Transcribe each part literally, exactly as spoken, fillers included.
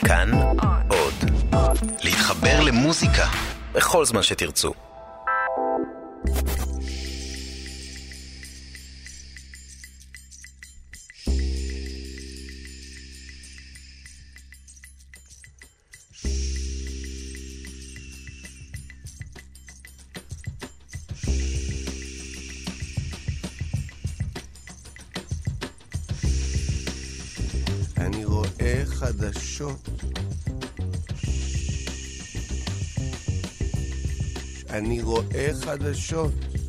כאן עוד. להתחבר למוזיקה בכל זמן שתרצו. אני רואה חדשות. אני רואה חדשות.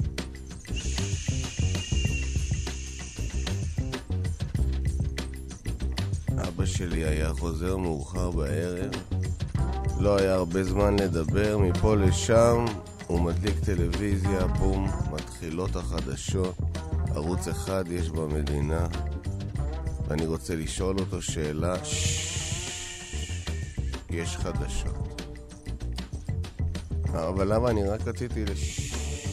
אבא שלי היה חוזר מאוחר בערב. לא היה הרבה זמן לדבר, מפה לשם הוא מדליק טלוויזיה, בום, מתחילות החדשות. ערוץ אחד יש במדינה. ואני רוצה לשאול אותו שאלה. יש חדשות. אבל למה אני רק רציתי לש...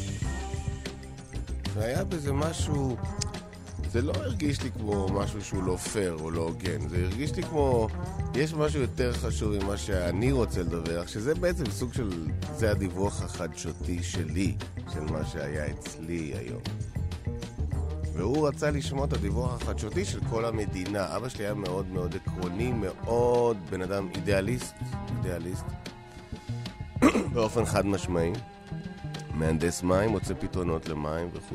והיה בזה משהו... זה לא הרגיש לי כמו משהו שהוא לא פייר או לא הוגן. זה הרגיש לי כמו... יש משהו יותר חשוב ממה שאני רוצה לדבר, שזה בעצם סוג של... זה הדיווח החדשותי שלי, של מה שהיה אצלי היום. והוא רצה לשמוע את הדיווח החדשותי של כל המדינה. אבא שלי היה מאוד מאוד עקרוני, מאוד בן אדם אידיאליסט, אידיאליסט, באופן חד משמעי. מהנדס מים, מוצא פתרונות למים וכו'.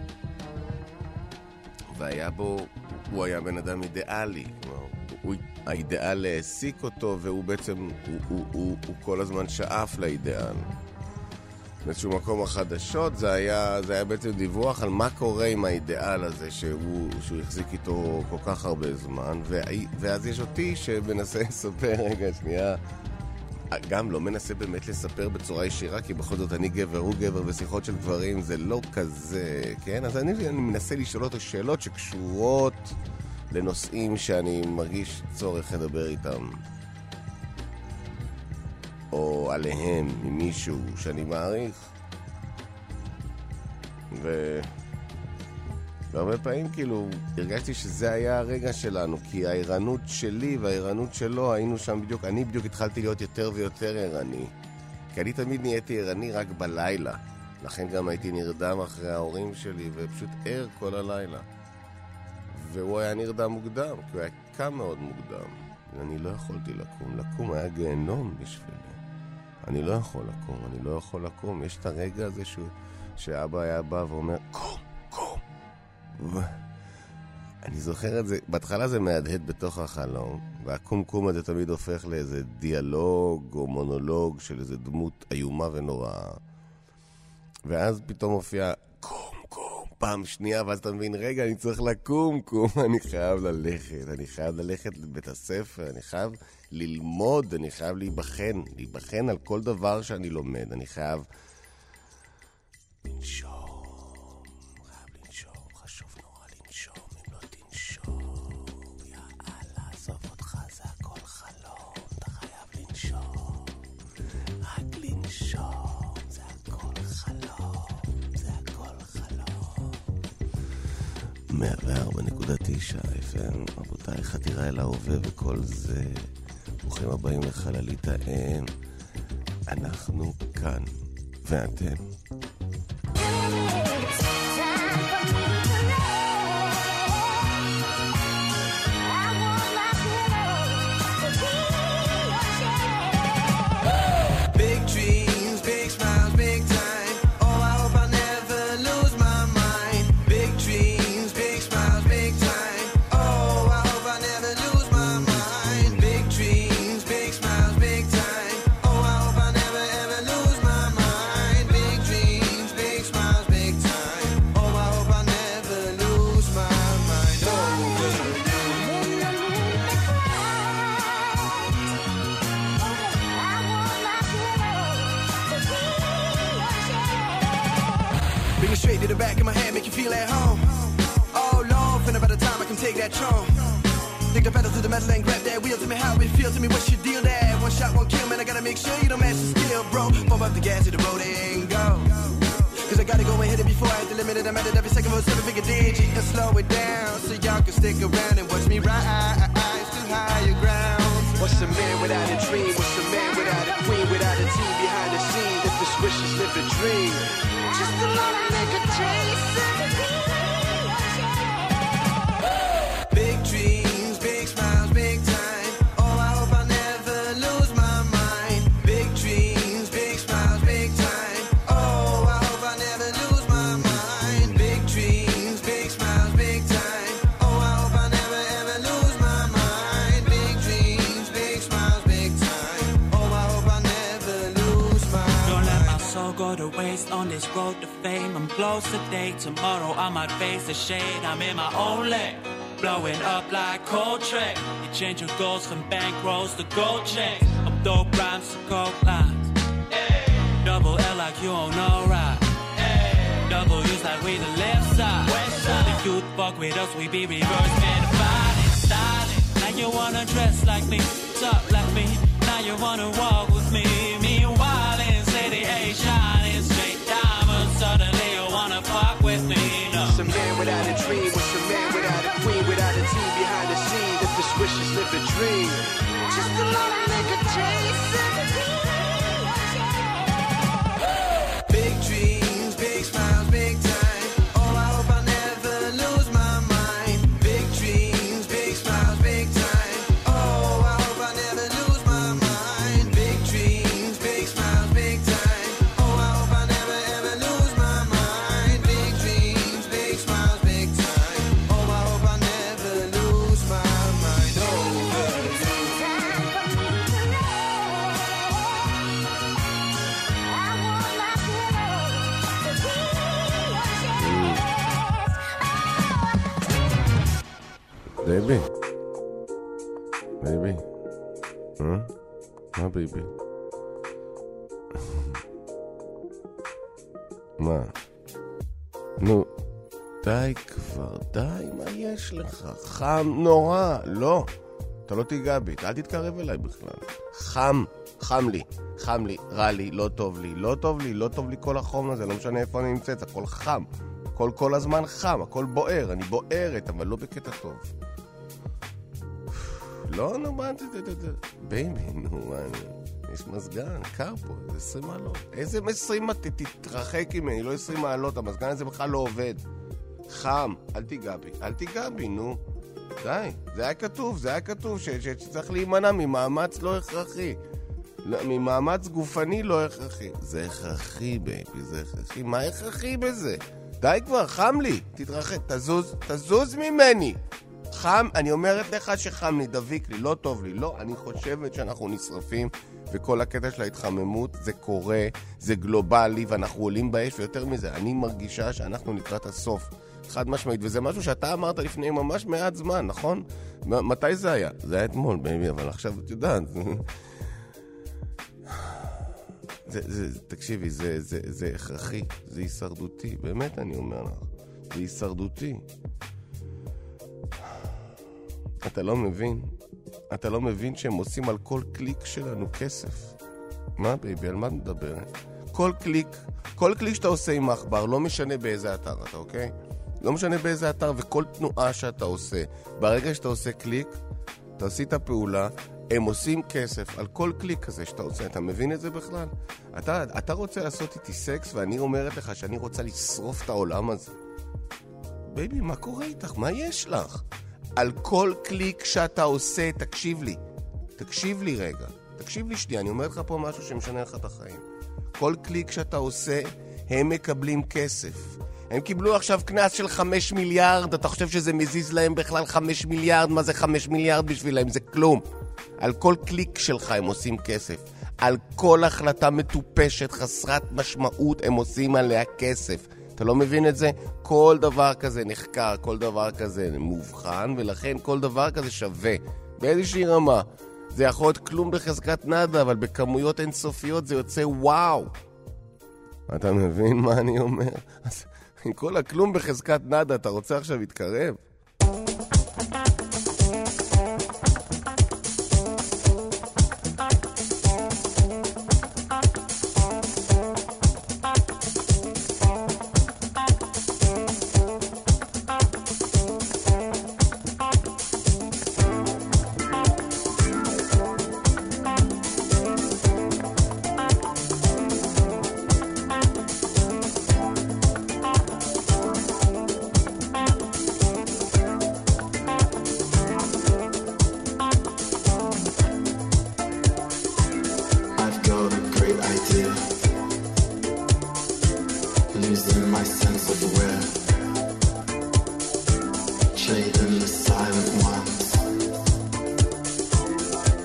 והיה בו, הוא היה בן אדם אידיאלי. הוא, האידיאל העסיק אותו, והוא בעצם, הוא, הוא, הוא, הוא כל הזמן שאף לאידיאל. באיזשהו מקום החדשות, זה היה, זה היה בעצם דיווח על מה קורה עם האידיאל הזה שהוא, שהוא החזיק איתו כל כך הרבה זמן, ו, ואז יש אותי שמנסה לספר, רגע, שנייה, גם לא מנסה באמת לספר בצורה ישירה, כי בכל זאת אני גבר, הוא גבר, ושיחות של גברים זה לא כזה, כן? אז אני, אני מנסה לשאול אותו שאלות שקשורות לנושאים שאני מרגיש צורך לדבר איתם. או עליהם, ממישהו שאני מעריך. ו... והרבה פעמים כאילו הרגשתי שזה היה הרגע שלנו, כי הערנות שלי והערנות שלו היינו שם בדיוק, אני בדיוק התחלתי להיות יותר ויותר ערני. כי אני תמיד נהייתי ערני רק בלילה. לכן גם הייתי נרדם אחרי ההורים שלי ופשוט ער כל הלילה. והוא היה נרדם מוקדם, כי הוא היה קם מאוד מוקדם. אני לא יכולתי לקום. לקום היה גיהנום בשבילי. אני לא יכול לקום, אני לא יכול לקום. יש את הרגע הזה שהוא, שאבא היה בא ואומר, קום, קום. ו... אני זוכר את זה, בהתחלה זה מהדהד בתוך החלום, והקום קום הזה תמיד הופך לאיזה דיאלוג או מונולוג של איזה דמות איומה ונוראה. ואז פתאום מופיע, קום, קום, פעם שנייה, ואז אתה מבין, רגע, אני צריך לקום, קום, אני חייב ללכת, אני חייב ללכת לבית הספר, אני חייב ללמוד, אני חייב להיבחן, להיבחן על כל דבר שאני לומד, אני חייב לנשום, חייב לנשום, חשוב נורא לנשום, אם לא תנשום, יאללה, עזוב אותך, זה הכל חלום, אתה חייב לנשום, רק לנשום, זה הכל חלום, זה הכל חלום. מאה וארבע נקודה תשע אף אם, רבותיי, חתירה אל ההווה וכל זה. ברוכים הבאים לחללית האם. אנחנו כאן, ואתם. Straight to the back of my head, make you feel at home. Oh Lord, finna by the time I can take that throne. Take the pedal to the metal and grab that wheel. Tell me how it feels, tell me what's your deal there. One shot, one kill, man, I gotta make sure you don't match the skill, bro. Pump up the gas to the road and go. Cause I gotta go and hit it before I hit the limit. And I'm at it every second for a seven figure digit. And slow it down so y'all can stick around and watch me rise to higher ground. What's the mirror? dream. What's a man without a queen, without a team behind the scenes? If his wishes live a dream, just a lot of nigga chasing. Big dreams, big smiles, big time. Oh, I hope I never lose my mind. Big dreams, big smiles, big time. Oh, I hope I never lose my mind. Big dreams, big smiles, big time. Oh, I hope I never ever lose my mind. Big dreams, big smiles, big time. Oh, I hope I never lose my mind. Don't let my soul go to waste on this road to fame. I'm close today, tomorrow I might face the shade. I'm in my own lane, blowing up like Coltrane. You change your goals from bank rolls to gold chains. Up dope rhymes to coke lines. Hey. Double L like you don't know right. Hey. Double U's like we the left side. West side. The youth fuck with us, we be reverse man fighting, styling. Now you wanna dress like me, talk like me. Now you wanna walk with me. Meanwhile in city A, shining straight diamonds. Suddenly you wanna fuck with me. No. What's a man without a dream? What's a man without a queen, without a team behind the scenes? If his wishes live a dream, just a lot of nigga chasing. Big dreams, big smiles, big time. Oh, I hope I never lose my mind. Big dreams, big smiles, big time. Oh, I hope I never lose my mind. Big dreams, big smiles, big time. Oh, I hope I never ever lose my mind. Big dreams, big smiles, big time. Oh, I hope I never lose my mind. Oh, בייבי. בייבי. אה? מה בייבי? מה? נו, די כבר, די, מה יש לך? חם נורא. לא, אתה לא תיגע בי, אל תתקרב אליי בכלל. חם, חם לי, חם לי, רע לי, לא טוב לי, לא טוב לי, לא טוב לי כל החום הזה, לא משנה איפה אני נמצאת, הכל חם. הכל כל הזמן חם, הכל בוער, אני בוערת, אבל לא בקטע טוב. לא, נו, מה, בייבי, נו, יש מזגן, קר פה, זה עשרים מעלות. איזה עשרים מעלות? תתרחק ממני, לא עשרים מעלות, המזגן הזה בכלל לא עובד. חם, אל תיגע בי, אל תיגע בי, נו. די, זה היה כתוב, זה היה כתוב, שצריך להימנע ממאמץ לא הכרחי. ממאמץ גופני לא הכרחי. זה הכרחי, בייבי, זה הכרחי. מה הכרחי בזה? די כבר, חם לי, תתרחק, תזוז, תזוז ממני. חם, אני אומרת לך שחם לי, דביק לי, לא טוב לי, לא, אני חושבת שאנחנו נשרפים, וכל הקטע של ההתחממות זה קורה, זה גלובלי, ואנחנו עולים באש, ויותר מזה, אני מרגישה שאנחנו לקראת הסוף, חד משמעית, וזה משהו שאתה אמרת לפני ממש מעט זמן, נכון? מתי זה היה? זה היה אתמול, בייבי, אבל עכשיו את יודעת. זה, זה, תקשיבי, זה, זה, זה הכרחי, זה הישרדותי, באמת אני אומר לך, זה הישרדותי. אתה לא מבין, אתה לא מבין שהם עושים על כל קליק שלנו כסף. מה בייבי, על מה את מדברת? כל קליק, כל קליק שאתה עושה עם האחבר, לא משנה באיזה אתר אתה, אוקיי? לא משנה באיזה אתר, וכל תנועה שאתה עושה, ברגע שאתה עושה קליק, אתה עושה את הפעולה, הם עושים כסף על כל קליק כזה שאתה עושה. אתה מבין את זה בכלל? אתה, אתה רוצה לעשות איתי סקס, ואני אומרת לך שאני רוצה לשרוף את העולם הזה. בייבי, מה קורה איתך? מה יש לך? על כל קליק שאתה עושה, תקשיב לי. תקשיב לי רגע. תקשיב לי שנייה, אני אומר לך פה משהו שמשנה לך את החיים. כל קליק שאתה עושה, הם מקבלים כסף. הם קיבלו עכשיו כנס של חמש מיליארד, אתה חושב שזה מזיז להם בכלל חמש מיליארד? מה זה חמש מיליארד בשבילהם? זה כלום. על כל קליק שלך הם עושים כסף. על כל החלטה מטופשת, חסרת משמעות, הם עושים עליה כסף. אתה לא מבין את זה? כל דבר כזה נחקר, כל דבר כזה מובחן, ולכן כל דבר כזה שווה. באיזושהי רמה. זה יכול להיות כלום בחזקת נדה, אבל בכמויות אינסופיות זה יוצא וואו. אתה מבין מה אני אומר? אז עם כל הכלום בחזקת נדה, אתה רוצה עכשיו להתקרב?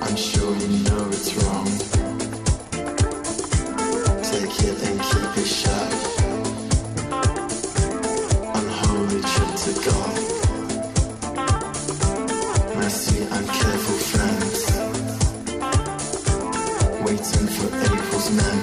I'm sure you know it's wrong. Take it and keep it shut. Unholy trip to God. Messy and careful friends, waiting for April's men.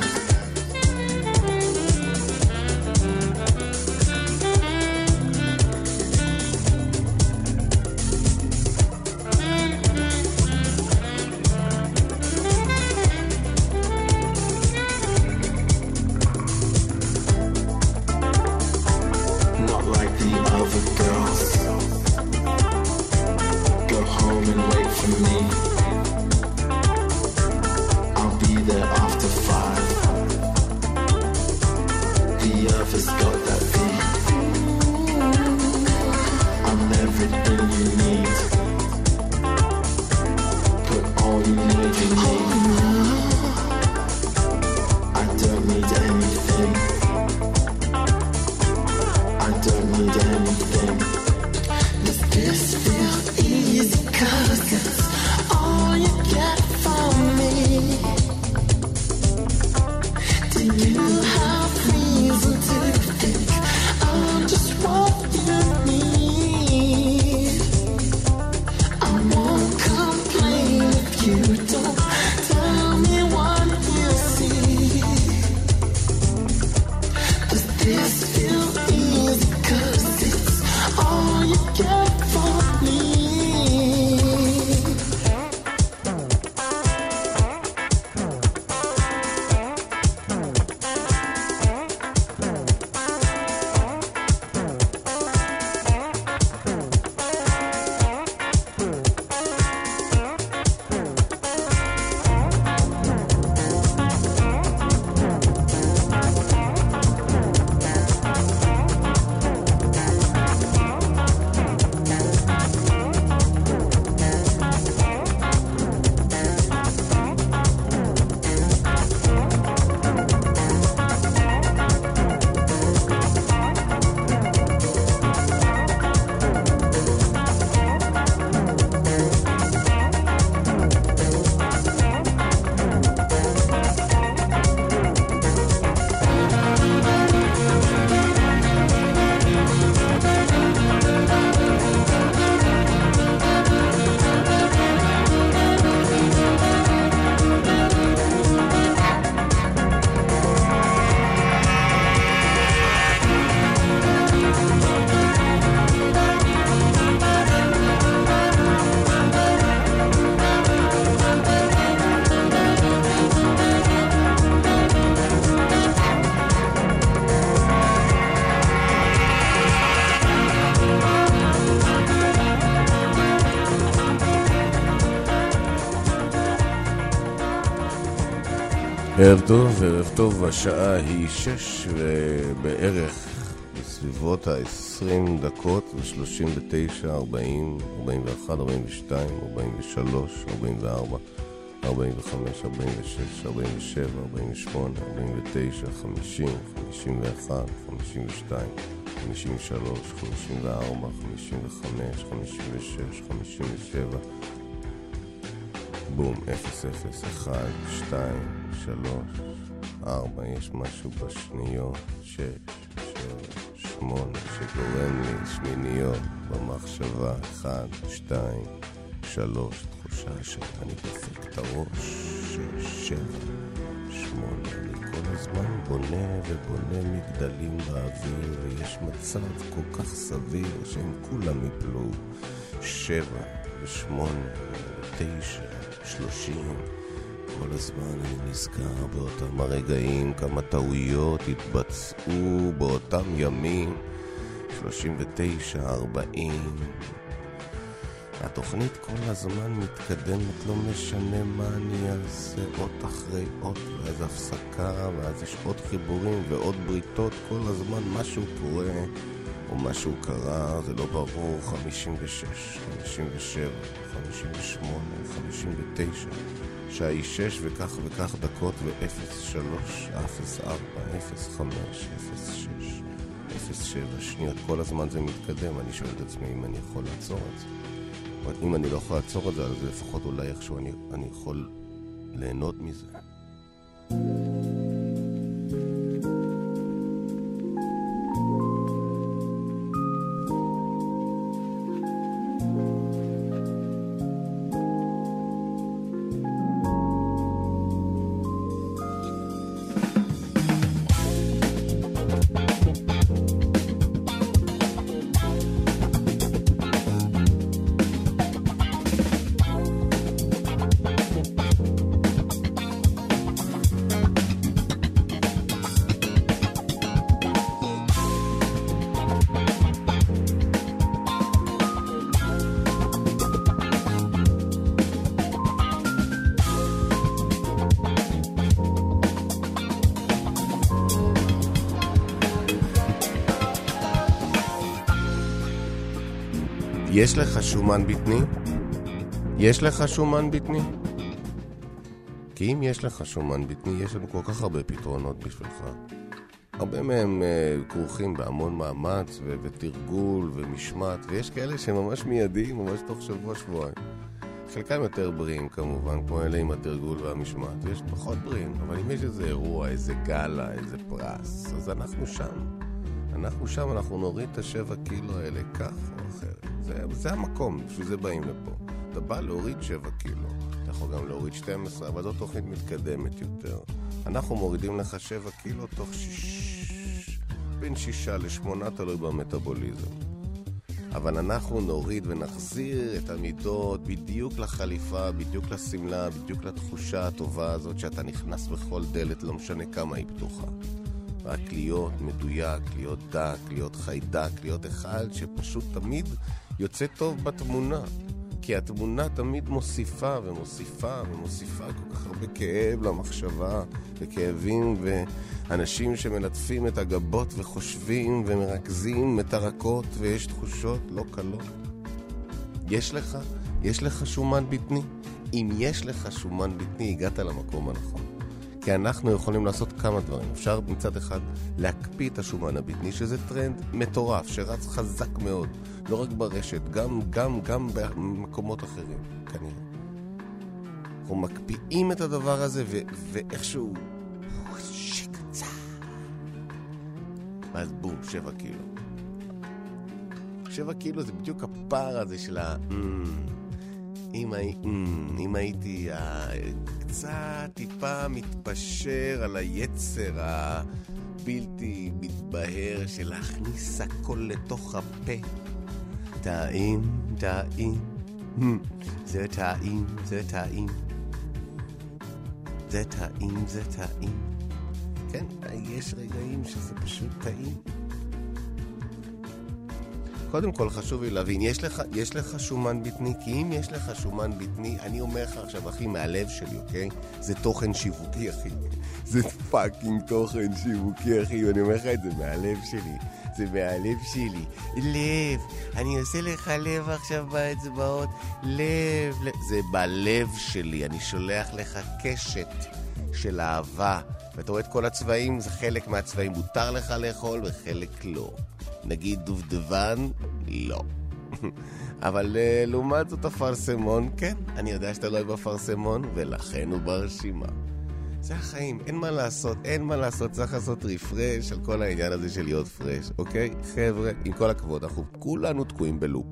ערב טוב, ערב טוב, השעה היא שש ובערך בסביבות ה-עשרים דקות ו-שלושים ותשע, ארבעים, ארבעים ואחת, ארבעים ושתיים, ארבעים ושלוש, ארבעים וארבע, ארבעים וחמש, ארבעים ושש, ארבעים ושבע, ארבעים ושמונה, ארבעים ותשע, חמישים, חמישים ואחת, חמישים ושתיים, חמישים ושלוש, חמישים וארבע, חמישים וחמש, חמישים ושש, חמישים ושבע, בום, אפס, אפס, אחד, שתיים, שלוש, ארבע, יש משהו בשניות, שש, שבע, שמונה, שגורם לי שמיניות במחשבה, אחד, שתיים, שלוש, תחושה שאני דופק את הראש, שש, שבע, שמונה, אני כל הזמן בונה ובונה מגדלים באוויר, ויש מצב כל כך סביר שהם כולם יפלו, שבע, ושמונה, ותשע, שלושים, כל הזמן אני נזכר באותם הרגעים, כמה טעויות התבצעו באותם ימים, שלושים ותשע, ארבעים. התוכנית כל הזמן מתקדמת, לא משנה מה אני אעשה, עוד אחרי עוד, ואז הפסקה, ואז יש עוד חיבורים ועוד בריתות, כל הזמן משהו קורה, או משהו קרה, זה לא ברור, חמישים ושש, חמישים ושבע, חמישים ושמונה, חמישים ותשע, שעה היא שש וכך וכך דקות ו-אפס שלוש, אפס ארבע, אפס חמש, אפס שש, אפס שבע שניות, כל הזמן זה מתקדם, אני שואל את עצמי אם אני יכול לעצור את זה. אם אני לא יכול לעצור את זה, אז לפחות אולי איכשהו אני, אני יכול ליהנות מזה. יש לך שומן בטני? יש לך שומן בטני? כי אם יש לך שומן בטני, יש לנו כל כך הרבה פתרונות בשבילך. הרבה מהם uh, כרוכים בהמון מאמץ ו- ותרגול ומשמעת, ויש כאלה שממש מיידיים, ממש תוך שבוע שבועיים. חלקם יותר בריאים כמובן, כמו אלה עם התרגול והמשמעת, ויש פחות בריאים, אבל אם יש איזה אירוע, איזה גלה, איזה פרס, אז אנחנו שם. אנחנו שם, אנחנו נוריד את השבע קילו האלה כך או אחרת. זה, זה המקום, בשביל זה באים לפה. אתה בא להוריד שבע קילו, אתה יכול גם להוריד שתים עשרה, אבל זו תוכנית מתקדמת יותר. אנחנו מורידים לך שבע קילו תוך שיש... בין שישה לשמונה, תלוי במטאבוליזם. אבל אנחנו נוריד ונחזיר את המידות בדיוק לחליפה, בדיוק לסמלה, בדיוק לתחושה הטובה הזאת שאתה נכנס בכל דלת, לא משנה כמה היא פתוחה. רק להיות מדויק, להיות דק, להיות חיידק, להיות אחד שפשוט תמיד יוצא טוב בתמונה. כי התמונה תמיד מוסיפה ומוסיפה ומוסיפה כל כך הרבה כאב למחשבה וכאבים ואנשים שמלטפים את הגבות וחושבים ומרכזים את הרכות ויש תחושות לא קלות. יש לך, יש לך שומן בטני? אם יש לך שומן בטני, הגעת למקום הנכון. כי אנחנו יכולים לעשות כמה דברים. אפשר מצד אחד להקפיא את השומן הבטני, שזה טרנד מטורף, שרץ חזק מאוד. לא רק ברשת, גם, גם, גם במקומות אחרים, כנראה. אנחנו מקפיאים את הדבר הזה, ו- ואיכשהו... שקצה. ואז בום, שבע קילו. שבע קילו זה בדיוק הפער הזה של ה... אם, הי... אם הייתי קצת טיפה מתפשר על היצר הבלתי מתבהר של להכניס הכל לתוך הפה. טעים, טעים, זה טעים, זה טעים, זה טעים, זה טעים. כן, יש רגעים שזה פשוט טעים. קודם כל חשוב לי להבין, יש לך, יש לך שומן בטני? כי אם יש לך שומן בטני, אני אומר לך עכשיו, אחי, מהלב שלי, אוקיי? זה תוכן שיווקי, אחי. זה פאקינג תוכן שיווקי, אחי, ואני אומר לך את זה מהלב שלי. זה מהלב שלי. לב, אני עושה לך לב עכשיו באצבעות. לב, לב. זה בלב שלי, אני שולח לך קשת של אהבה. ואתה רואה את כל הצבעים, זה חלק מהצבעים. מותר לך לאכול וחלק לא. נגיד דובדבן, לא. אבל uh, לעומת זאת הפרסמון, כן, אני יודע שאתה לא אוהב בפרסמון, ולכן הוא ברשימה. זה החיים, אין מה לעשות, אין מה לעשות, צריך לעשות ריפרש על כל העניין הזה של להיות פרש, אוקיי? חבר'ה, עם כל הכבוד, אנחנו כולנו תקועים בלופ.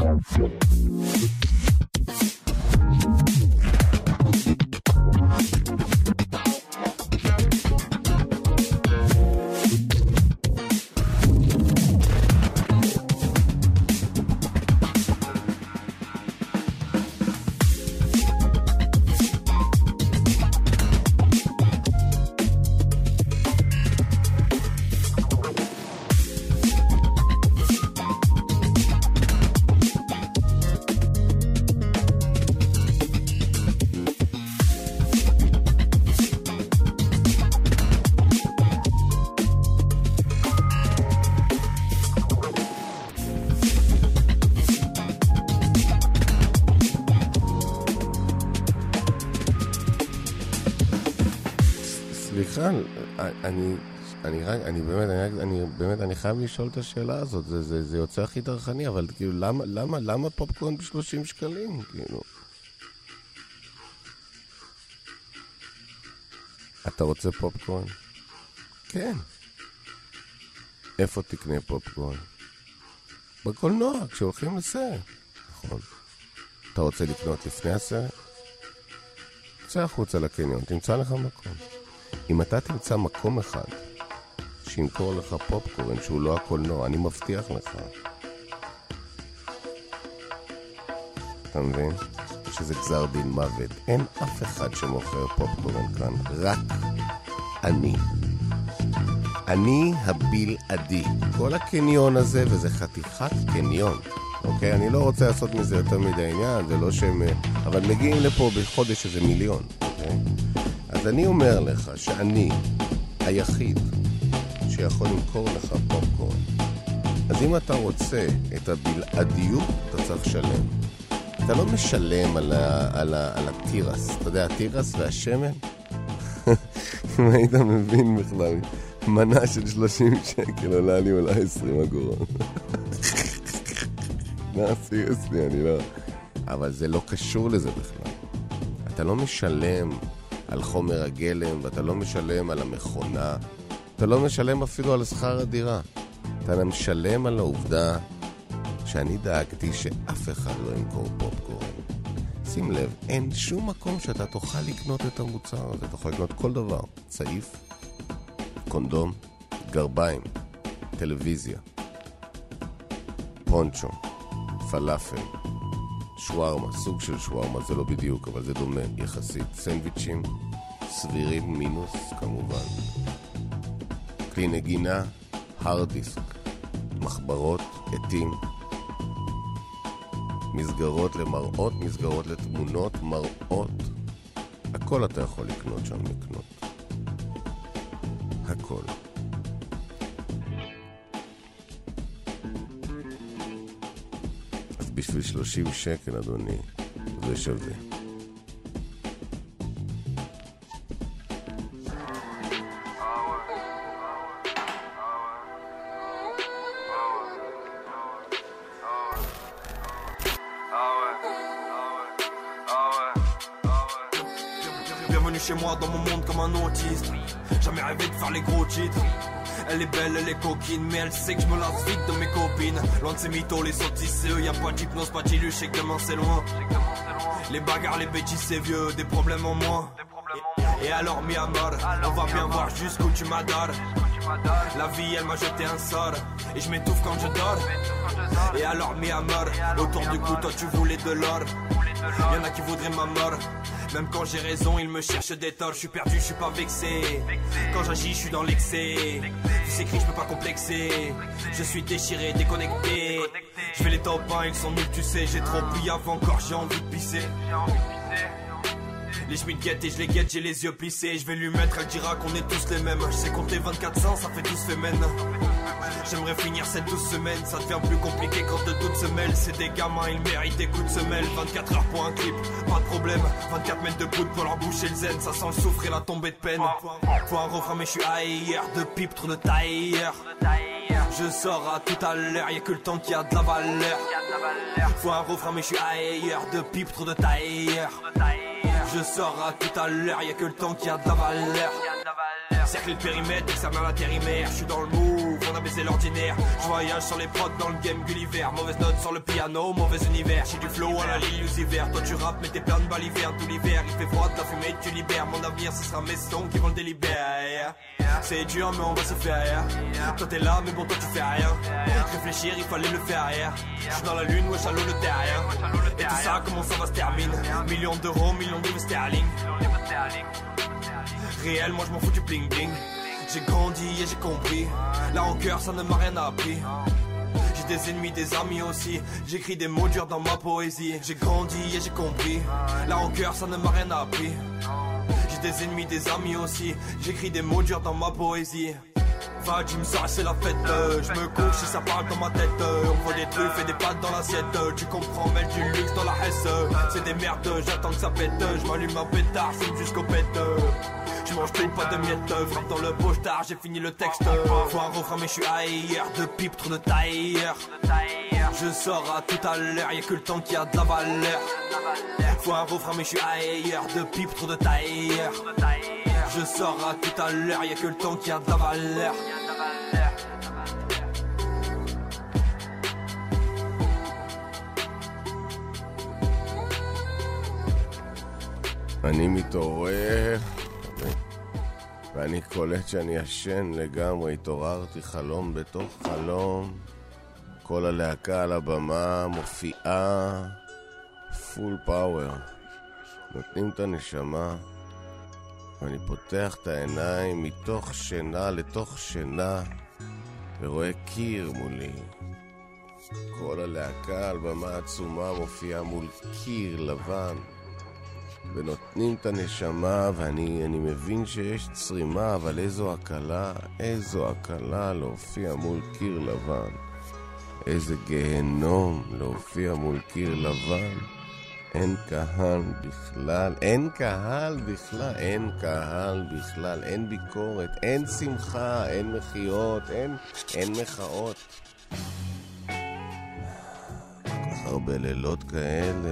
אני, אני רק, אני באמת, אני, אני באמת, אני חייב לשאול את השאלה הזאת. זה, זה, זה יוצא הכי דרכני, אבל כאילו, למה, למה, למה פופקורן ב-שלושים שקלים? כאילו. אתה רוצה פופקורן? כן. איפה תקנה פופקורן? בקולנוע, כשהולכים לסרט. נכון. אתה רוצה לקנות לפני הסרט? צא החוצה לקניון, תמצא לך מקום. אם אתה תמצא מקום אחד שימכור לך פופקורן שהוא לא הקולנוע, אני מבטיח לך, אתה מבין? שזה גזר דין מוות. אין אף אחד שמוכר פופקורן כאן, רק אני. אני הבלעדי. כל הקניון הזה, וזה חתיכת קניון, אוקיי? אני לא רוצה לעשות מזה יותר מדי עניין, זה לא שהם... אבל מגיעים לפה בחודש איזה מיליון, אוקיי? אז אני אומר לך שאני היחיד שיכול למכור לך פופקורן. אז אם אתה רוצה את הבלעדיות, אתה צריך לשלם. אתה לא משלם על, ה, על, ה, על הטירס. אתה יודע, הטירס והשמן? אם היית מבין בכלל, מנה של שלושים שקל עולה לי אולי עשרים אגורות. סיריוסלי, אני לא... אבל זה לא קשור לזה בכלל. אתה לא משלם על חומר הגלם, ואתה לא משלם על המכונה, אתה לא משלם אפילו על שכר הדירה. אתה משלם על העובדה שאני דאגתי שאף אחד לא ימכור פופקורן. שים לב, אין שום מקום שאתה תוכל לקנות את המוצר הזה. אתה יכול לקנות כל דבר. צעיף, קונדום, גרביים, טלוויזיה, פונצ'ו, פלאפל, שווארמה, סוג של שווארמה, זה לא בדיוק, אבל זה דומה יחסית. סנדוויצ'ים, סבירים מינוס, כמובן. כלי נגינה, הרד דיסק, מחברות, עטים, מסגרות למראות, מסגרות לתמונות, מראות. הכל אתה יכול לקנות שם, לקנות. הכל. אז בשביל שלושים שקל, אדוני, זה שווה. Chez moi dans mon monde comme un autiste. Jamais rêvé de faire les gros titres. Elle est belle, elle est coquine, mais elle sait que je me lasse vite de mes copines. Loin de ces mythos, les sottises c'est eux. Y'a pas d'hypnose, pas d'illusion, je sais que demain c'est loin. Les bagarres, les bêtises c'est vieux, des problèmes en moins. Et alors mi amor, on va bien voir jusqu'où tu m'adores. La vie elle m'a jeté un sort et je m'étouffe quand je dors. Et alors mi amor, autour du cou toi tu voulais de l'or. Y'en a qui voudraient ma mort. Même quand j'ai raison, ils me cherchent des torts. Je suis perdu, je suis pas vexé. Quand j'agis, je suis dans l'excès. Tu sais que je peux pas complexer. Je suis déchiré, déconnecté. Je fais les top un, ils sont nuls, tu sais. J'ai trop pris avant, encore j'ai envie de pisser. Les chemins guettent et je les guette, j'ai les yeux plissés. Je vais lui mettre, elle dira qu'on est tous les mêmes. Je sais compter vingt-quatre cents, ça fait douze semaines. J'aimerais finir cette douze semaines. Ça devient plus compliqué quand de toutes se mêlent. C'est des gamins, ils méritent des coups de semelle. Vingt-quatre heures pour un clip, pas de problème. Vingt-quatre mètres de poudre pour leur boucher le zen. Ça sent le souffre et la tombée de peine. Faut un refrain mais je suis ailleurs. De pipe, trop de tailleur. Je sors à tout à l'heure, y'a que le temps qui a de la valeur. Faut un refrain mais je suis ailleurs. De pipe, trop de tailleur. Je sors à tout à l'heure, y'a que le temps qui a de la valeur. Cercle le périmètre, examen l'intérimaire. Je suis dans le move, on a baissé l'ordinaire. Je voyage sur les prods dans le game Gulliver. Mauvaise note sur le piano, mauvais univers. J'ai du flow à la l'illusiver. Toi tu rappes mais t'es plein de balles hiver. Tout l'hiver il fait froid, de la fumée tu libères. Mon avenir ce sera mes sons qui vont le délibérer. C'est dur mais on va s'y faire. Toi t'es là mais bon toi tu fais rien. Réfléchir il fallait le faire. Je suis dans la lune, ouais j'allô le terrien. Et tout ça comment ça va se terminer. Millions d'euros, millions de sterling. Réel, moi je m'en fous du bling bling. J'ai grandi et j'ai compris. La rancœur ça ne m'a rien appris. J'ai des ennemis, des amis aussi. J'écris des mots durs dans ma poésie. J'ai grandi et j'ai compris. La rancœur ça ne m'a rien appris. J'ai des ennemis, des amis aussi. J'écris des mots durs dans ma poésie. Va Jim, ça c'est la fête. Je me couche si ça parle dans ma tête. On voit des truffes et des pâtes dans l'assiette. Tu comprends, mêle du luxe dans la hesse. C'est des merdes, j'attends que ça pète. Je m'allume un pétard, fume jusqu'au pète. Je mange tout, pas de miettes. Frappe dans le pochetard, j'ai fini le texte. Faut un refrain mais je suis ailleurs. De pipe, trop de tailleur. Je sors à tout à l'heure, y'a que le temps qui a de la valeur. Faut un refrain mais je suis ailleurs. De pipe, trop de tailleur. Je sors à tout à l'heure, y'a que le temps qui a de la valeur. אני מתעורר ואני קולט שאני ישן לגמרי. התעוררתי חלום בתוך חלום. כל הלהקה על הבמה מופיעה פול פאוור, נותנים את הנשמה. ואני פותח את העיניים מתוך שינה לתוך שינה ורואה קיר מולי. כל הלהקה על במה עצומה מופיעה מול קיר לבן ונותנים את הנשמה. ואני אני מבין שיש צרימה, אבל איזו הקלה, איזו הקלה להופיע מול קיר לבן. איזה גהנום להופיע מול קיר לבן. אין קהל בכלל, אין קהל בכלל, אין קהל בכלל, אין ביקורת, אין שמחה, אין מחיות, אין, אין מחאות. כל הרבה לילות כאלה,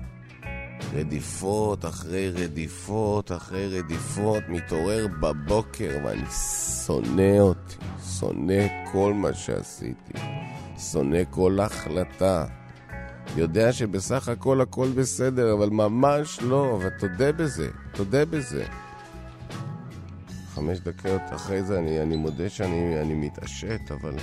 רדיפות אחרי רדיפות אחרי רדיפות, מתעורר בבוקר ואני שונא אותי, שונא כל מה שעשיתי, שונא כל החלטה. יודע שבסך הכל הכל בסדר, אבל ממש לא, אבל תודה בזה, תודה בזה. חמש דקות אחרי זה אני, אני מודה שאני אני מתעשת, אבל...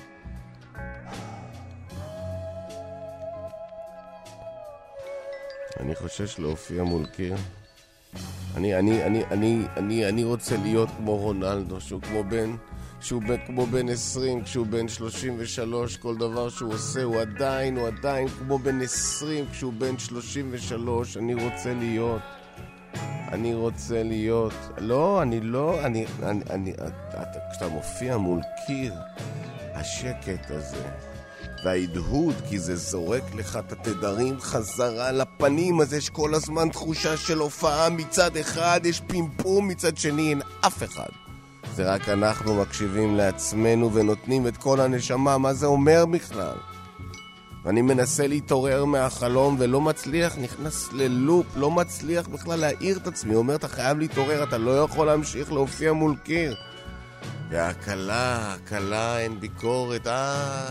אני חושש להופיע מול קיר. אני, אני, אני, אני, אני, אני רוצה להיות כמו רונלדו, שהוא כמו בן... שהוא כמו בן עשרים, כשהוא בן שלושים ושלוש, כל דבר שהוא עושה הוא עדיין, הוא עדיין כמו בן עשרים, כשהוא בן שלושים ושלוש. אני רוצה להיות, אני רוצה להיות, לא, אני לא, אני, אני, אני, אתה, כשאתה מופיע מול קיר, השקט הזה, וההדהוד, כי זה זורק לך את התדרים חזרה לפנים, אז יש כל הזמן תחושה של הופעה מצד אחד, יש פימפום מצד שני, אין אף אחד. זה רק אנחנו מקשיבים לעצמנו ונותנים את כל הנשמה. מה זה אומר בכלל? ואני מנסה להתעורר מהחלום ולא מצליח, נכנס ללופ, לא מצליח בכלל להעיר את עצמי. אומר, אתה חייב להתעורר, אתה לא יכול להמשיך להופיע מול קיר. והקלה, הקלה, אין ביקורת, אה,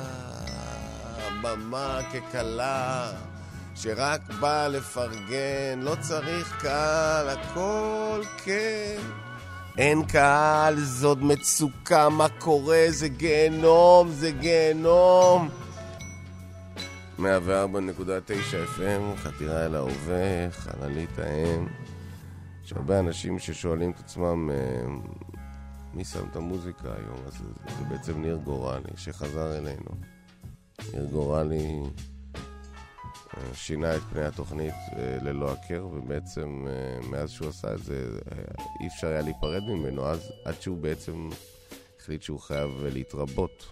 במה כקלה שרק בא לפרגן, לא צריך קהל, הכל כן. אין קהל, זאת מצוקה, מה קורה? זה גיהנום, זה גיהנום. מאה וארבע נקודה תשע אף אם, חתירה אל ההווה, חללית האם. יש הרבה אנשים ששואלים את עצמם מי שם את המוזיקה היום, אז זה, זה בעצם ניר גורלי שחזר אלינו. ניר גורלי שינה את פני התוכנית ללא הכר, ובעצם מאז שהוא עשה את זה אי אפשר היה להיפרד ממנו, אז עד שהוא בעצם החליט שהוא חייב להתרבות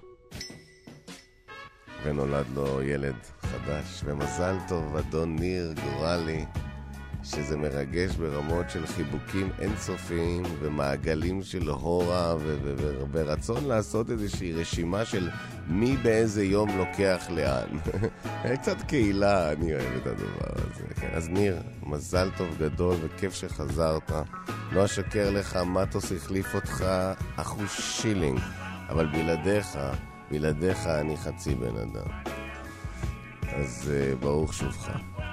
ונולד לו ילד חדש. ומזל טוב אדון ניר גורלי, שזה מרגש ברמות של חיבוקים אינסופיים ומעגלים של הורה ו- ו- ו- ורצון לעשות איזושהי רשימה של מי באיזה יום לוקח לאן. קצת קהילה, אני אוהב את הדבר הזה. כן. אז ניר, מזל טוב גדול וכיף שחזרת. לא אשקר לך, מטוס החליף אותך אחוז שילינג, אבל בלעדיך, בלעדיך אני חצי בן אדם. אז uh, ברוך שובך.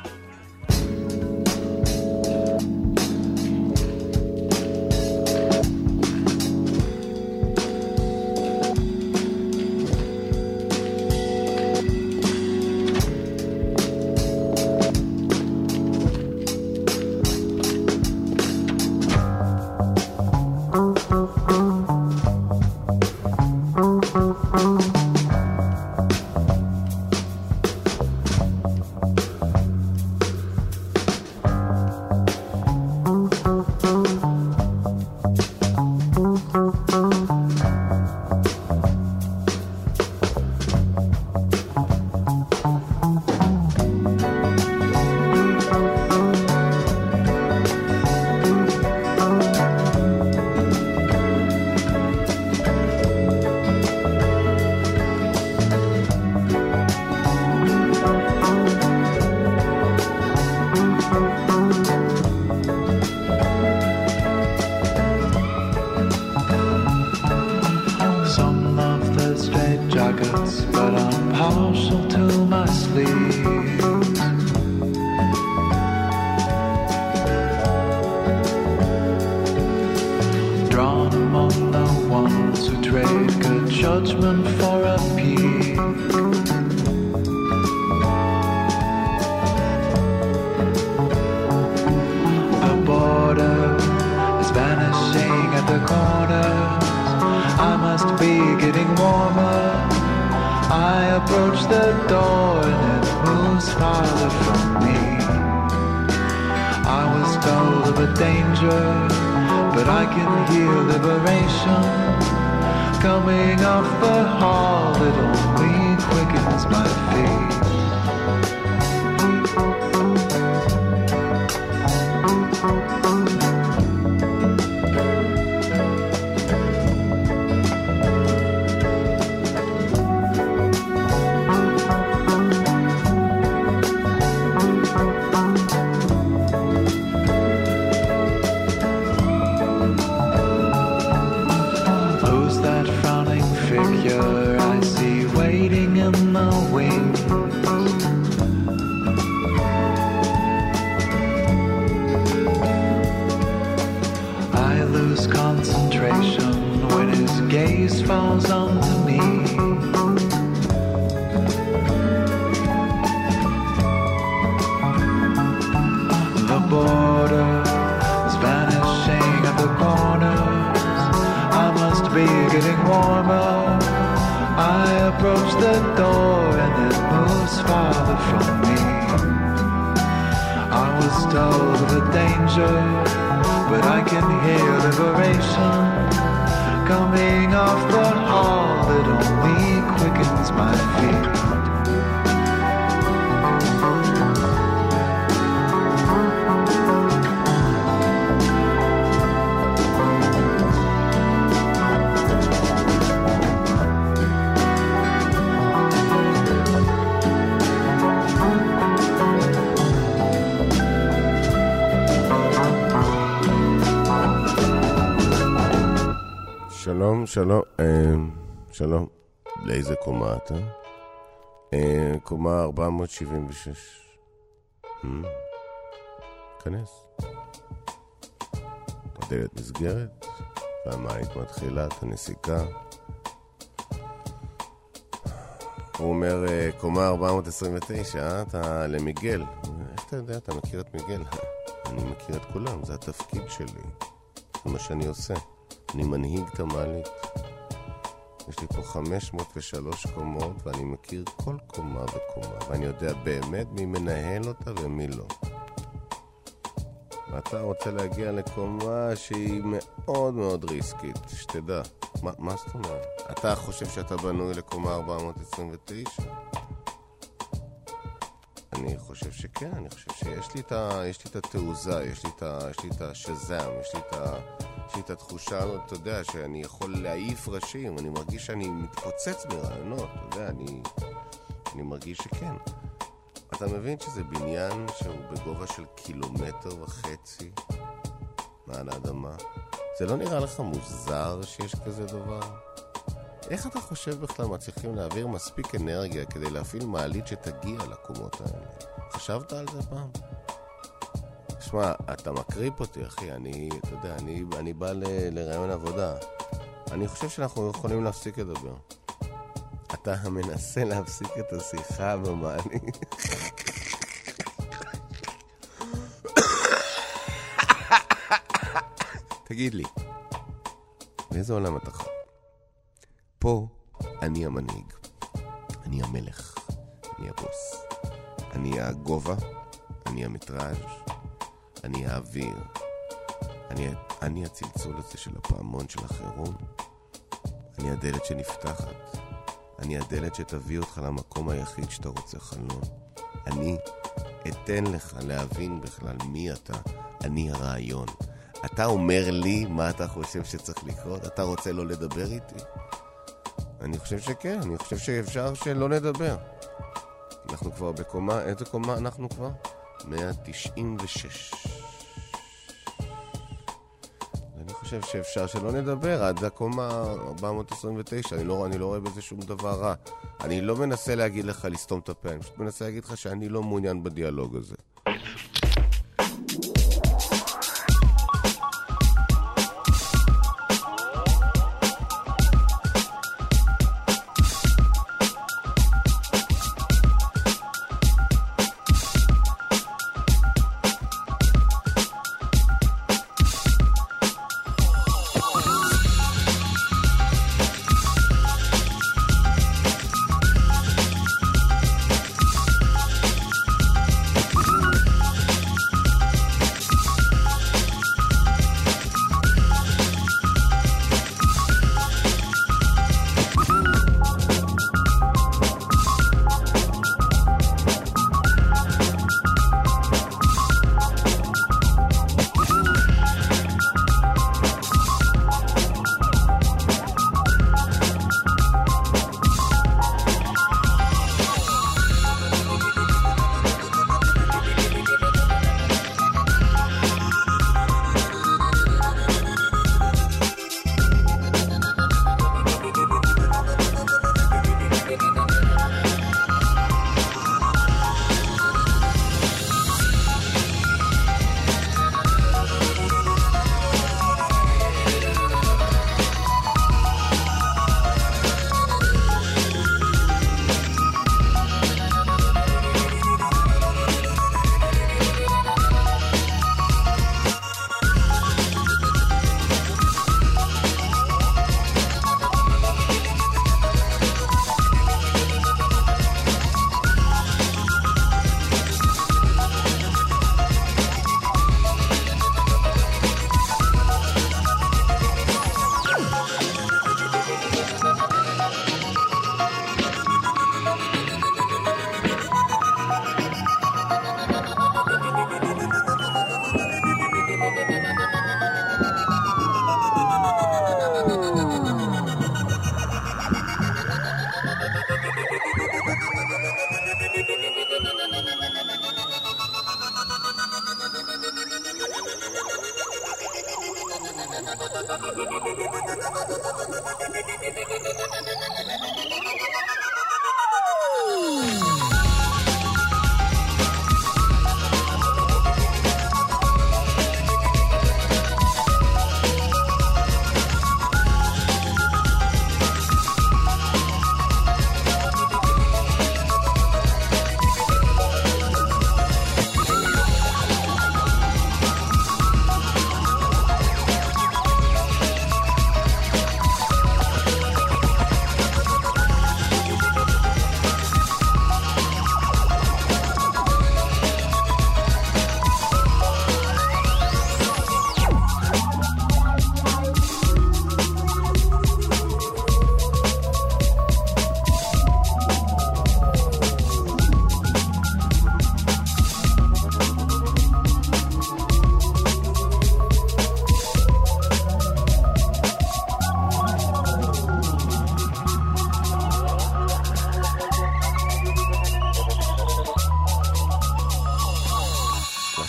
שלום, שלום, שלום, לאיזה קומה אתה? קומה ארבע מאות שבעים ושש. כנס. הדלת נסגרת, והמעית מתחילה את הנסיקה. הוא אומר, קומה ארבע מאות עשרים ותשע, אתה למיגל. איך אתה יודע? אתה מכיר את מיגל? אני מכיר את כולם, זה התפקיד שלי. זה מה שאני עושה. אני מנהיג את המעלית. יש לי פה חמש מאות ושלוש קומות, ואני מכיר כל קומה וקומה, ואני יודע באמת מי מנהל אותה ומי לא. ואתה רוצה להגיע לקומה שהיא מאוד מאוד ריסקית, שתדע. מה, מה זאת אומרת? אתה חושב שאתה בנוי לקומה ארבע מאות עשרים ותשע? אני אני חושב שכן, אני חושב שיש לי את ה... יש לי את התעוזה, יש לי את ה... יש לי את השזם, יש לי את ה... יש לי את התחושה הזאת, אתה יודע, שאני יכול להעיף ראשים, אני מרגיש שאני מתפוצץ מרעיונות, אתה יודע, אני... אני מרגיש שכן. אתה מבין שזה בניין שהוא בגובה של קילומטר וחצי מעל האדמה? זה לא נראה לך מוזר שיש כזה דבר? איך אתה חושב בכלל מצליחים להעביר מספיק אנרגיה כדי להפעיל מעלית שתגיע לקומות האלה? חשבת על זה פעם? שמע, אתה מקריפ אותי, אחי. אני, אתה יודע, אני, אני בא ל, לרעיון עבודה. אני חושב שאנחנו יכולים להפסיק לדבר. אתה מנסה להפסיק את השיחה במעלית. תגיד לי, באיזה עולם אתה חי? פה אני המנהיג, אני המלך, אני הבוס, אני הגובה, אני המטראז', אני האוויר, אני, אני הצלצול הזה של הפעמון של החירום, אני הדלת שנפתחת, אני הדלת שתביא אותך למקום היחיד שאתה רוצה חלום, אני אתן לך להבין בכלל מי אתה, אני הרעיון. אתה אומר לי מה אתה חושב שצריך לקרות? אתה רוצה לא לדבר איתי? אני חושב שכן, אני חושב שאפשר שלא נדבר. אנחנו כבר בקומה, איזה קומה אנחנו כבר? מאה תשעים ושש. אני חושב שאפשר שלא נדבר עד הקומה ארבע מאות עשרים ותשע. אני לא, אני לא רואה בזה שום דבר רע. אני לא מנסה להגיד לך לסתום את הפה, אני פשוט מנסה להגיד לך שאני לא מעוניין בדיאלוג הזה.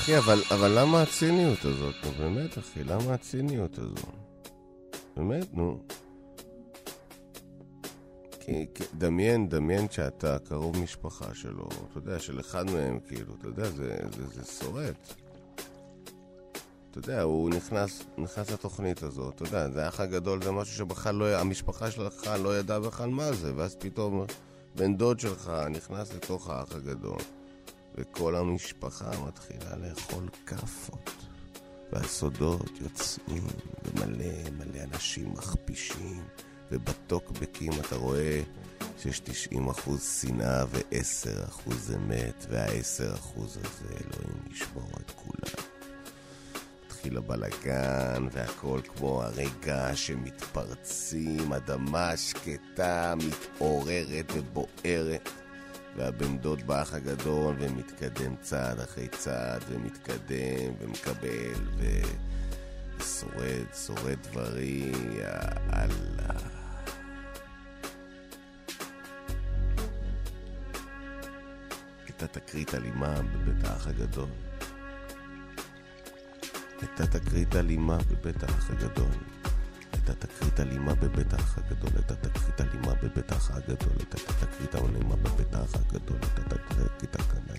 אחי, אבל, אבל למה הציניות הזאת? נו, באמת, אחי, למה הציניות הזאת? באמת, נו. כי, כי, דמיין, דמיין שאתה קרוב משפחה שלו, אתה יודע, של אחד מהם, כאילו, אתה יודע, זה, זה, זה שורט. אתה יודע, הוא נכנס, נכנס לתוכנית הזאת, אתה יודע, זה האח הגדול, זה משהו שבכלל לא, המשפחה שלך לא ידעה בכלל מה זה, ואז פתאום בן דוד שלך נכנס לתוך האח הגדול, וכל המשפחה מתחילה לאכול קפות, והסודות יוצאים, ומלא מלא אנשים מכפישים, ובטוקבקים אתה רואה שיש תשעים אחוז שנאה ו-עשרה אחוז אמת, וה-עשרה אחוז הזה אלוהים ישמור את כולם. מתחיל הבלגן, והכל כמו הרגע שמתפרצים, אדמה שקטה, מתעוררת ובוערת, והבן דוד באח הגדול ומתקדם צעד אחרי צעד, ומתקדם ומקבל ושורד, שורד דברי, יאללה. הייתה תקרית אלימה בבית האח הגדול. הייתה תקרית אלימה בבית האח הגדול. הייתה תקרית אלימה בבית האח הגדול. הייתה תקרית אלימה בבית האח הגדול. הייתה תקרית אלימה בבית האח הגדול. הייתה תקרית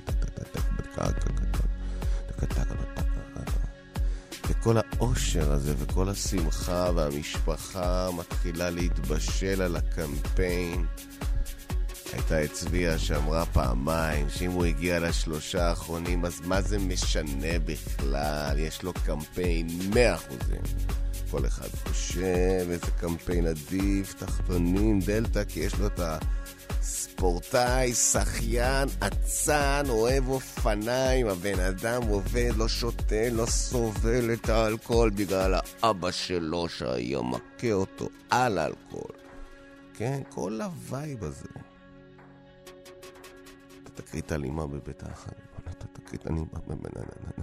וכל האושר הזה וכל השמחה והמשפחה מתחילה להתבשל על הקמפיין. הייתה הצביעה שאמרה פעמיים שאם הוא הגיע לשלושה האחרונים אז מה זה משנה בכלל, יש לו קמפיין מאה אחוזים. כל אחד חושב איזה קמפיין עדיף, תחתונים, דלטה, כי יש לו את הספורטאי, שחיין, עצן, אוהב אופניים, הבן אדם עובד, לא שותה, לא סובל את האלכוהול בגלל האבא שלו שהיה מכה אותו על האלכוהול. כן, כל הווייב הזה. תקרית אלימה בבית האח הגדול, אתה תקרית אלימה בבית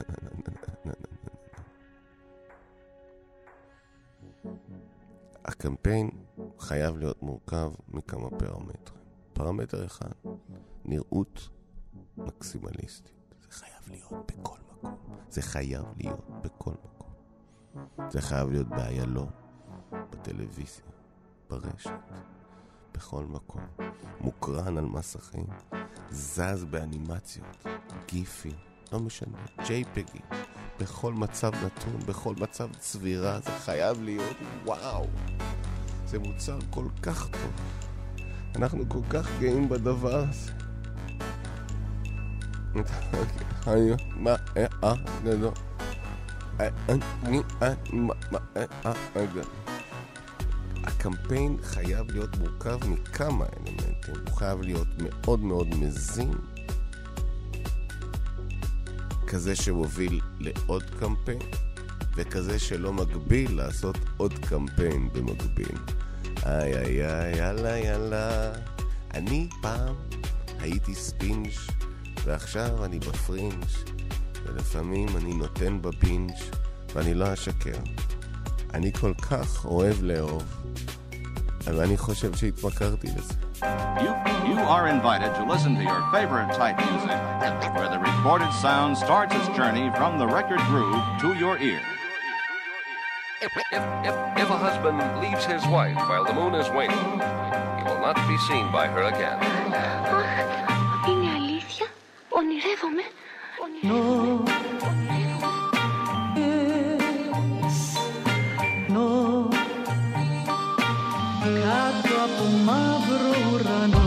הקמפיין חייב להיות מורכב מכמה פרמטרים. פרמטר אחד, נראות מקסימליסטית. זה חייב להיות בכל מקום. זה חייב להיות בכל מקום. זה חייב להיות באיילון, בטלוויזיה, ברשת, בכל מקום. מוקרן על מסכים. זז באנימציות, גיפים, לא משנה, ג'יי-פגים, בכל מצב נתון, בכל מצב צבירה, זה חייב להיות וואו. זה מוצר כל כך טוב. אנחנו כל כך גאים בדבר הזה. מה, אה, אה, לא, אה, אני, אה, מה, אה, אה, אה, הקמפיין חייב להיות מורכב מכמה אלמנטים. הוא חייב להיות מאוד מאוד מזין, כזה שמוביל לעוד קמפיין, וכזה שלא מגביל לעשות עוד קמפיין במקביל. איי איי איי, יאללה יאללה. אני פעם הייתי ספינג' ועכשיו אני בפרינג', ולפעמים אני נותן בבינג' ואני לא אשקר. אני כל כך אוהב לאהוב, ואני חושב שהתמכרתי לזה. You, you are invited to listen to your favorite type music, where the recorded sound starts its journey from the record groove to your ear. If, if, if, if a husband leaves his wife while the moon is waning, he will not be seen by her again. Είναι αλήθεια? Ονειρεύομαι? No. Κάτω από μαύρο ουρανό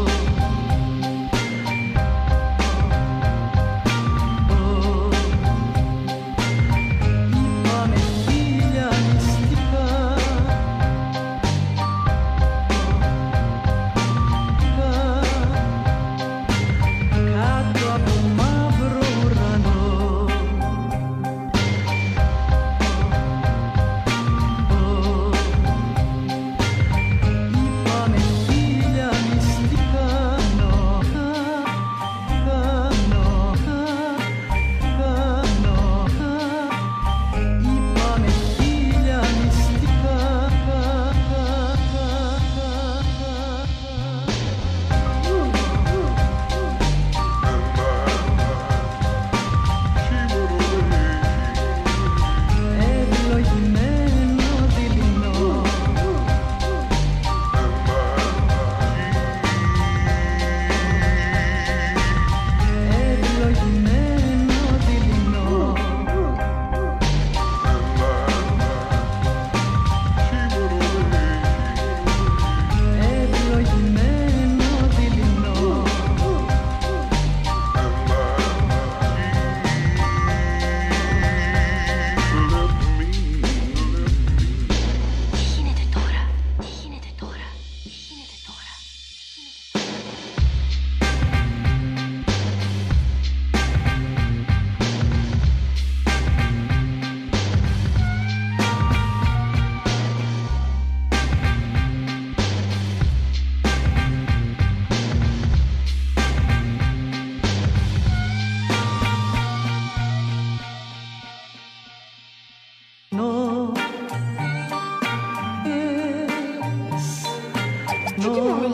είπαμε χίλια μυστικά κάτω από μαύρο ουρανό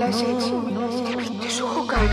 μιλάς έτσι? Τι σου έχω κάνει?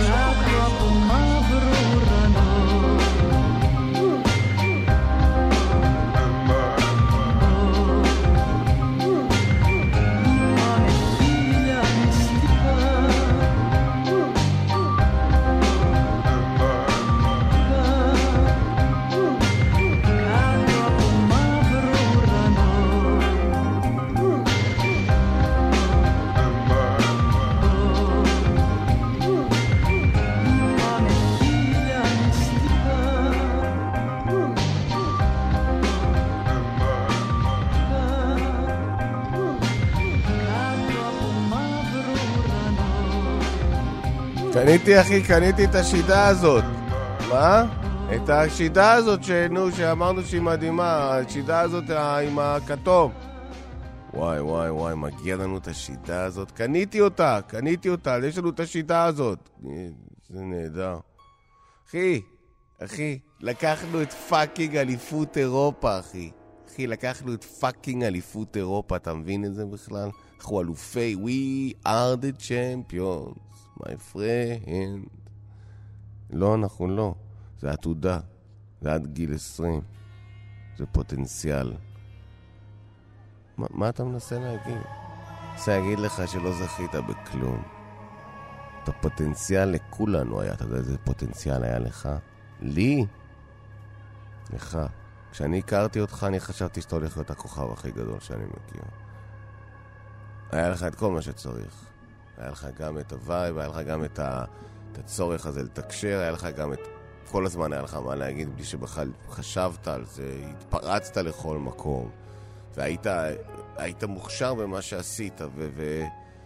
קניתי אחי, קניתי את השידה הזאת. מה? את השידה הזאת שנו, שאמרנו שהיא מדהימה, השידה הזאת עם הכתום. וואי וואי וואי, מגיע לנו את השידה הזאת. קניתי אותה, קניתי אותה, יש לנו את השידה הזאת. זה נהדר. אחי, אחי, לקחנו את פאקינג אליפות אירופה, אחי. אחי, לקחנו את פאקינג אליפות אירופה, אתה מבין את זה בכלל? אנחנו אלופי, we are the champions. my friend. לא, אנחנו לא. זה עתודה. זה עד גיל עשרים. זה פוטנציאל. מה, מה אתה מנסה להגיד? אני אגיד לך שלא זכית בכלום. את הפוטנציאל לכולנו היה. אתה יודע איזה פוטנציאל היה לך? לי? לך. כשאני הכרתי אותך, אני חשבתי שאתה הולך להיות הכוכב הכי גדול שאני מכיר. היה לך את כל מה שצריך. היה לך גם את הווייב, היה לך גם את, ה... את הצורך הזה לתקשר, היה לך גם את... כל הזמן היה לך מה להגיד, בלי שבכלל חשבת על זה, התפרצת לכל מקום, והיית היית מוכשר במה שעשית, ו... ו...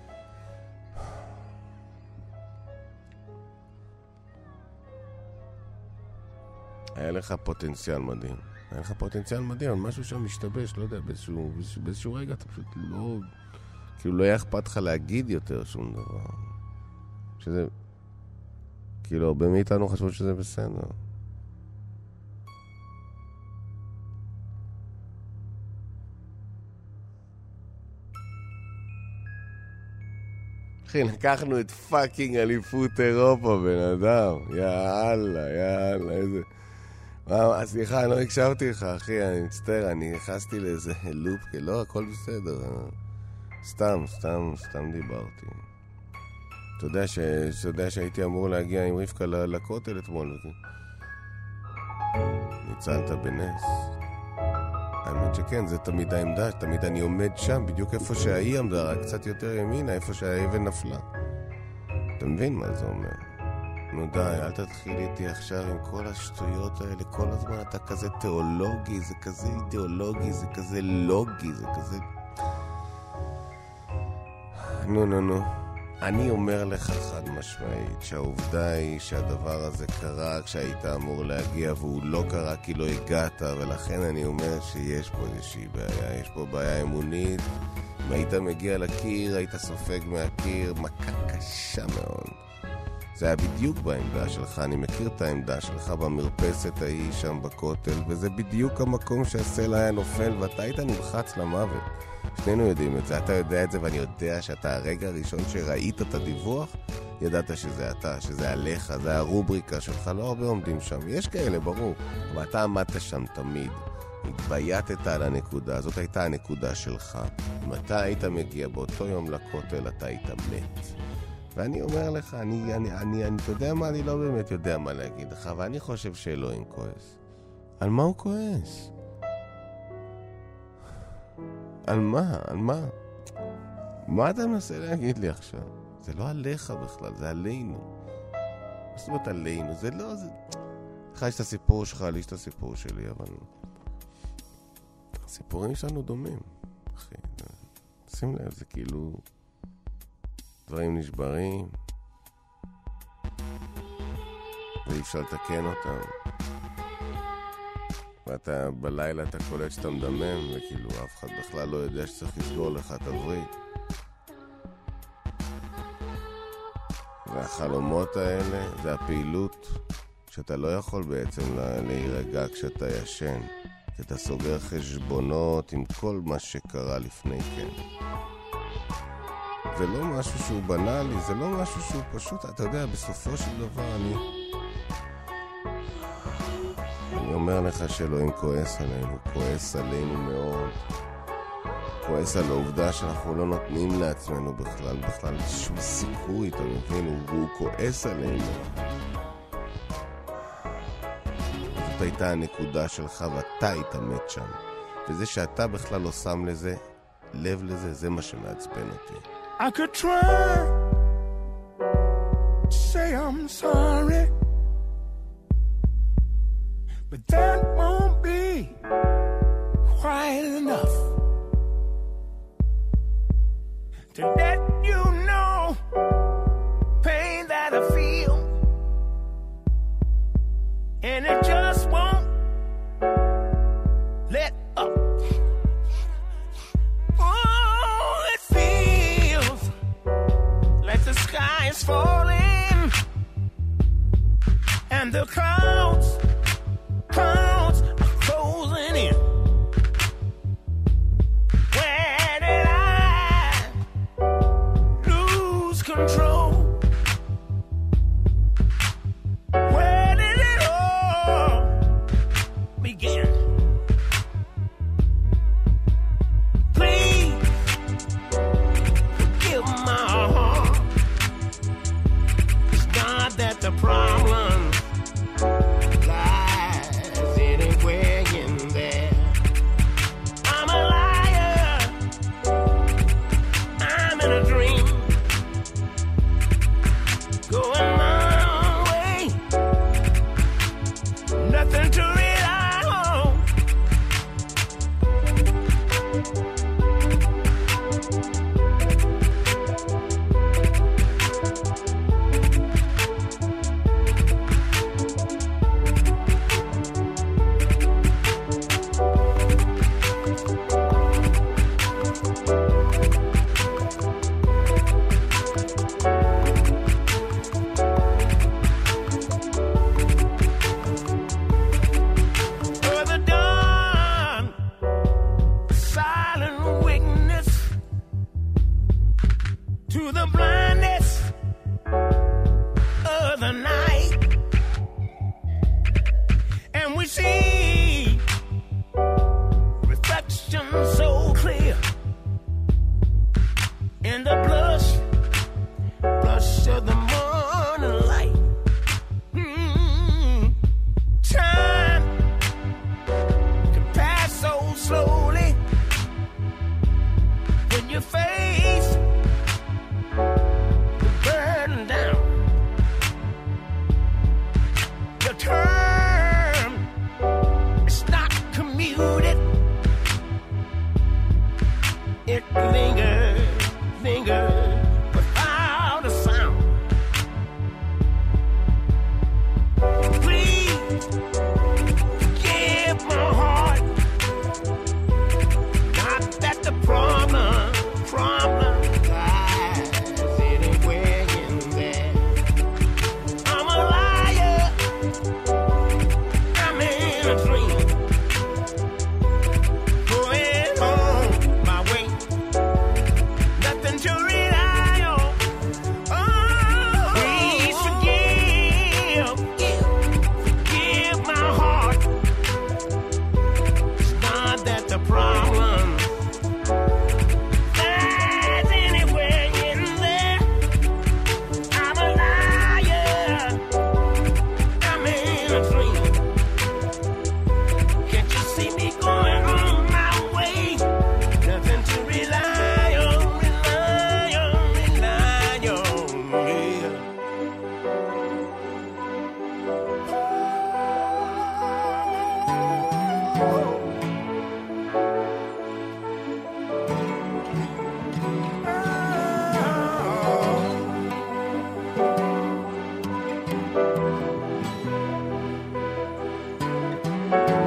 היה לך פוטנציאל מדהים. היה לך פוטנציאל מדהים, משהו שם משתבש, לא יודע, באיזשהו, באיזשהו, באיזשהו רגע אתה פשוט לא... כאילו לא היה אכפת לך להגיד יותר שום דבר. שזה... כאילו הרבה מאיתנו חשבו שזה בסדר. אחי, לקחנו את פאקינג אליפות אירופה, בן אדם. יאללה, יאללה, איזה... מה, סליחה, אני לא הקשבתי לך, אחי, אני מצטער, אני נכנסתי לאיזה לופ, לא, הכל בסדר. סתם, סתם, סתם דיברתי. אתה יודע, ש... אתה יודע שהייתי אמור להגיע עם רבקה לכותל אתמול. ניצלת בנס. האמת שכן, זה תמיד העמדה, תמיד אני עומד שם, בדיוק איפה שהיא עמדה, רק קצת יותר ימינה, איפה שהאבן נפלה. אתה מבין מה זה אומר? נו די, אל תתחיל איתי עכשיו עם כל השטויות האלה, כל הזמן אתה כזה תיאולוגי, זה כזה אידיאולוגי, זה כזה לוגי, זה כזה... נו נו נו, אני אומר לך חד משמעית שהעובדה היא שהדבר הזה קרה כשהיית אמור להגיע והוא לא קרה כי לא הגעת, ולכן אני אומר שיש פה איזושהי בעיה, יש פה בעיה אמונית. אם היית מגיע לקיר, היית סופג מהקיר, מכה קשה מאוד. זה היה בדיוק בעמדה שלך, אני מכיר את העמדה שלך במרפסת ההיא שם בכותל, וזה בדיוק המקום שהסלע היה נופל ואתה היית נלחץ למוות. שנינו יודעים את זה, אתה יודע את זה, ואני יודע שאתה הרגע הראשון שראית את הדיווח, ידעת שזה אתה, שזה עליך, זה הרובריקה שלך, לא הרבה עומדים שם, יש כאלה ברור, אבל אתה עמדת שם תמיד, התבייתת על הנקודה, זאת הייתה הנקודה שלך. אם אתה היית מגיע באותו יום לכותל, אתה היית מת. ואני אומר לך, אני, אני, אני, אני, אתה יודע מה, אני לא באמת יודע מה להגיד לך, ואני חושב שאלוהים כועס. על מה הוא כועס? על מה? על מה? מה אתה מנסה להגיד לי עכשיו? זה לא עליך בכלל, זה עלינו. מה זאת אומרת עלינו? זה לא... זה... לך יש את הסיפור שלך, לי יש את הסיפור שלי, אבל... הסיפורים שלנו דומים, אחי. שים לב, זה כאילו... דברים נשברים, ואי אפשר לתקן אותם. ואתה בלילה אתה קולט שאתה מדמם, וכאילו אף אחד בכלל לא יודע שצריך לסגור לך את הברית. והחלומות האלה זה הפעילות שאתה לא יכול בעצם להירגע כשאתה ישן, כי אתה סוגר חשבונות עם כל מה שקרה לפני כן. זה לא משהו שהוא בנאלי, זה לא משהו שהוא פשוט, אתה יודע, בסופו של דבר אני... אני אומר לך שאלוהים כועס עלינו, כועס עלינו מאוד. כועס על העובדה שאנחנו לא נותנים לעצמנו בכלל, בכלל שום סיכוי, אתה מבין? הוא כועס עלינו. זאת הייתה הנקודה שלך ואתה היית מת שם. וזה שאתה בכלל לא שם לזה, לב לזה, זה מה שמעצבן אותי. I could try to say I'm sorry, but that won't be quite enough to let you know pain that I feel, and it just won't let up. Oh, it feels like the sky is falling and the clouds, clouds are closing in. Where did I lose control? Where did it all begin? Please forgive my heart. It's not that the problem lies anywhere in there. I'm a liar. I'm in a dream. Going my way. Nothing to rely on. Further dawn, silent witness to the blindness of the night, and we see reflection so clear in the blush, blush of the morning light. Mm, time can pass so slowly when you face the burden down. The term is not commuted. It lingers, lingers without a sound. Please give my heart. Not that the problem, problem lies anywhere in there. I'm a liar. I'm in a dream. Going on my way. Nothing to rely on. Oh, please forgive, forgive my heart. It's not that the problem lies anywhere in there. I'm a liar. I'm in a dream. Can't you see me going on my way? Nothing to rely on, rely on, rely on, yeah. Oh.